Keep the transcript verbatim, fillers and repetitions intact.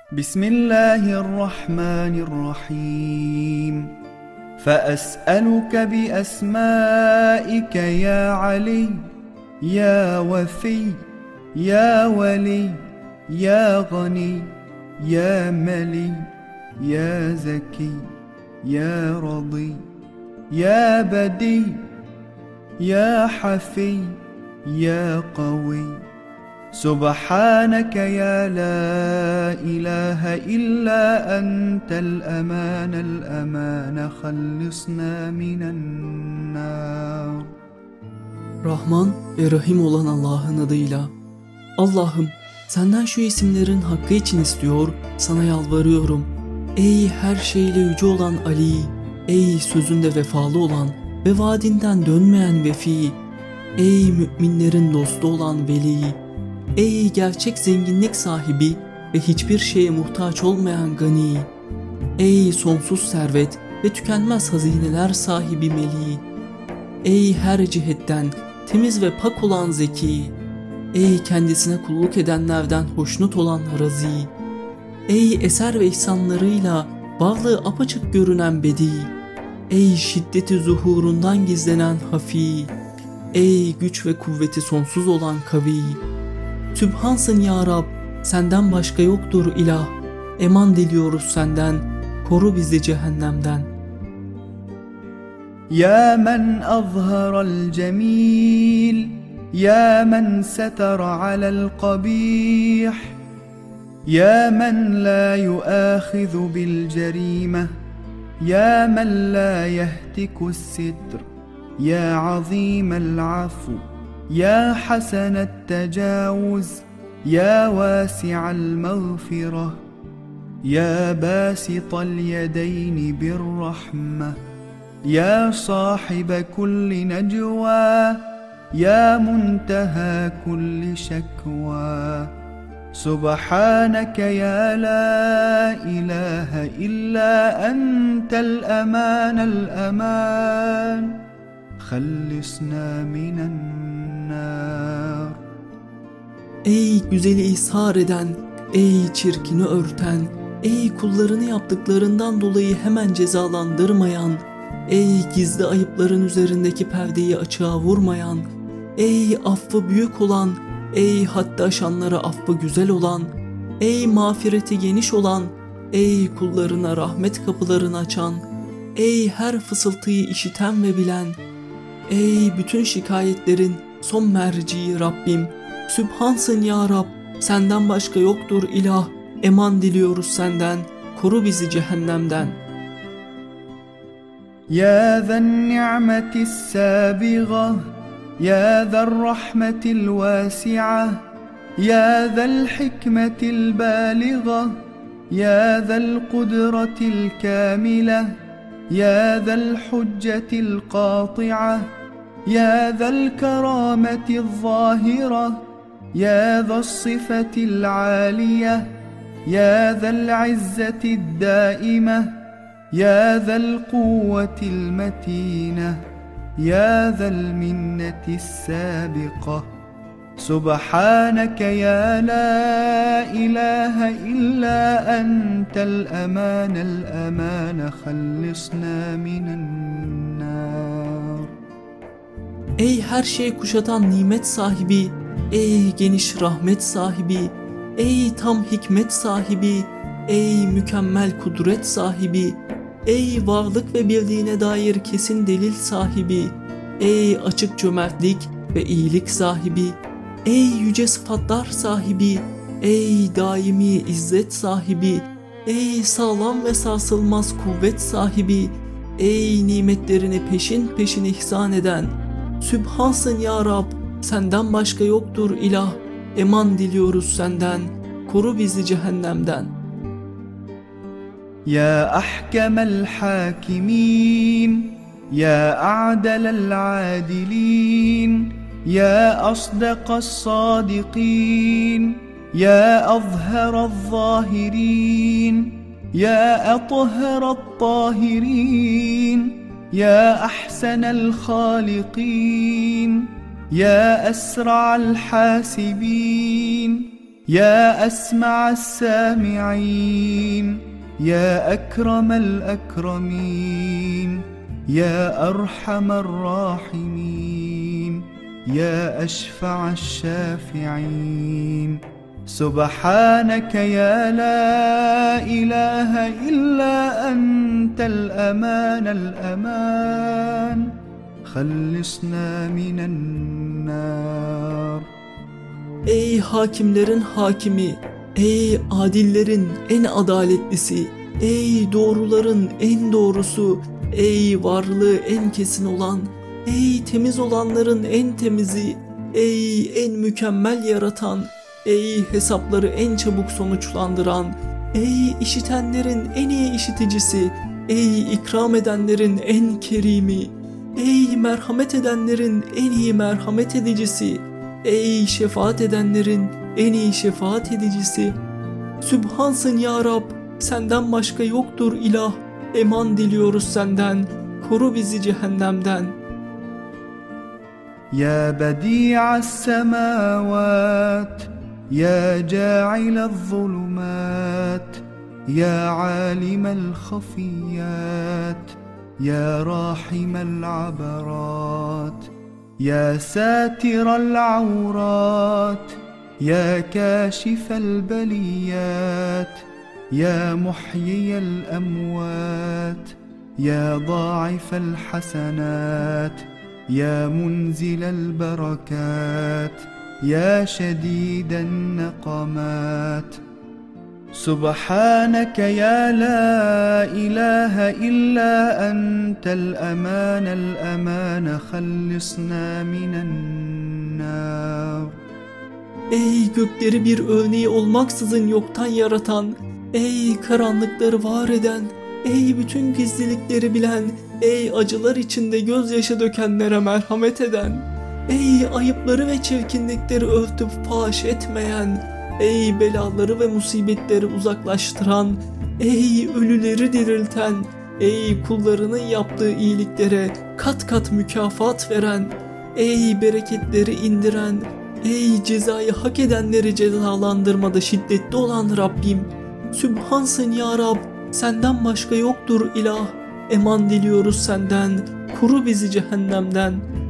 بسم الله الرحمن الرحيم فأسألك بأسمائك يا علي يا وفي يا ولي يا غني يا ملي يا زكي يا رضي يا بدي يا حفي يا قوي سبحانك يا لا إله إلا أنت الأمان الأمان خلصنا من النار. Rahman ve Rahim olan Allah'ın adıyla. Allah'ım, senden şu isimlerin hakkı için istiyor, sana yalvarıyorum. Ey her şeyle yüce olan Ali, ey sözünde vefalı olan ve vaadinden dönmeyen Vefi, ey müminlerin dostu olan Veli, ey gerçek zenginlik sahibi ve hiçbir şeye muhtaç olmayan Gani, ey sonsuz servet ve tükenmez hazineler sahibi Meli, ey her cihetten temiz ve pak olan Zeki, ey kendisine kulluk edenlerden hoşnut olan Razi, ey eser ve ihsanlarıyla varlığı apaçık görünen Bedi, ey şiddeti zuhurundan gizlenen Hafi, ey güç ve kuvveti sonsuz olan Kavi. Sübhansın ya Rab, senden başka yoktur ilah, eman diliyoruz senden, koru bizi cehennemden. يا من أظهر الجميل يا من ستر على القبيح يا من لا يؤاخذ بالجريمة يا من لا يهتك الستر يا عظيم العفو يا حسن التجاوز يا واسع المغفرة يا باسط اليدين بالرحمة يا صاحب كل نجوى يا منتهى كل شكوى سبحانك يا لا إله إلا أنت الأمان الأمان خلصنا من النار. Ey güzeli ishar eden, ey çirkini örten, ey kullarını yaptıklarından dolayı hemen cezalandırmayan, ey gizli ayıpların üzerindeki perdeyi açığa vurmayan, ey affı büyük olan, ey haddi aşanlara affı güzel olan, ey mağfireti geniş olan, ey kullarına rahmet kapılarını açan, ey her fısıltıyı işiten ve bilen, ey bütün şikayetlerin son merci Rabbim, Sübhansın ya Rab, senden başka yoktur ilah, eman diliyoruz senden, koru bizi cehennemden. يا ذا النعمة السابغة يا ذا الرحمة الواسعة يا ذا الحكمة البالغة يا ذا القدرة الكاملة يا ذا الحجة القاطعة يا ذا الكرامة الظاهرة يا ذا الصفة العالية يا ذا العزة الدائمة يا ذا القوة المتينة يا ذا المنة السابقة سبحانك يا لا إله إلا أنت الأمان الأمان خلصنا من النار. Ey her şeyi kuşatan nimet sahibi, ey geniş rahmet sahibi, ey tam hikmet sahibi, ey mükemmel kudret sahibi, ey varlık ve birliğine dair kesin delil sahibi, ey açık cömertlik ve iyilik sahibi, ey yüce sıfatlar sahibi, ey daimi izzet sahibi, ey sağlam ve sarsılmaz kuvvet sahibi, ey nimetlerini peşin peşin ihsan eden, Sübhansın ya Rab, senden başka yoktur ilah, eman diliyoruz senden, koru bizi cehennemden. يا أحكم الحاكمين يا أعدل العادلين يا أصدق الصادقين يا أظهر الظاهرين يا أطهر الطاهرين يا أحسن الخالقين يا أسرع الحاسبين يا أسمع السامعين يا أكرم الأكرمين يا أرحم الراحمين يا أشفع الشافعين سبحانك يا لا إله إلا أنت الأمان الأمان خلصنا من النار. Ey hakimlerin hakimi, ey adillerin en adaletlisi, ey doğruların en doğrusu, ey varlığı en kesin olan, ey temiz olanların en temizi, ey en mükemmel yaratan, ey hesapları en çabuk sonuçlandıran, ey işitenlerin en iyi işiticisi, ey ikram edenlerin en kerimi, ey merhamet edenlerin en iyi merhamet edicisi, ey şefaat edenlerin en iyi şefaat edicisi. Sübhansın ya Rab, senden başka yoktur ilah, eman diliyoruz senden, koru bizi cehennemden. Ya bedi'as semavat ya ca'ilez zulumat ya alimel khafiyat ya rahimel abarat يا ساتر العورات يا كاشف البليات يا محيي الأموات يا ضاعف الحسنات يا منزل البركات يا شديد النقمات سبحانك يا لا إله إلا أنت الأمان الأمان خلصنا من النار. Ey gökleri bir örneği olmaksızın yoktan yaratan, ey karanlıkları var eden, ey bütün gizlilikleri bilen, ey acılar içinde gözyaşı dökenlere merhamet eden, ey ayıpları ve çirkinlikleri örtüp faş etmeyen, ey belaları ve musibetleri uzaklaştıran, ey ölüleri dirilten, ey kullarının yaptığı iyiliklere kat kat mükafat veren, ey bereketleri indiren, ey cezayı hak edenleri cezalandırmada şiddetli olan Rabbim. Sübhansın ya Rab, senden başka yoktur ilah, eman diliyoruz senden, koru bizi cehennemden.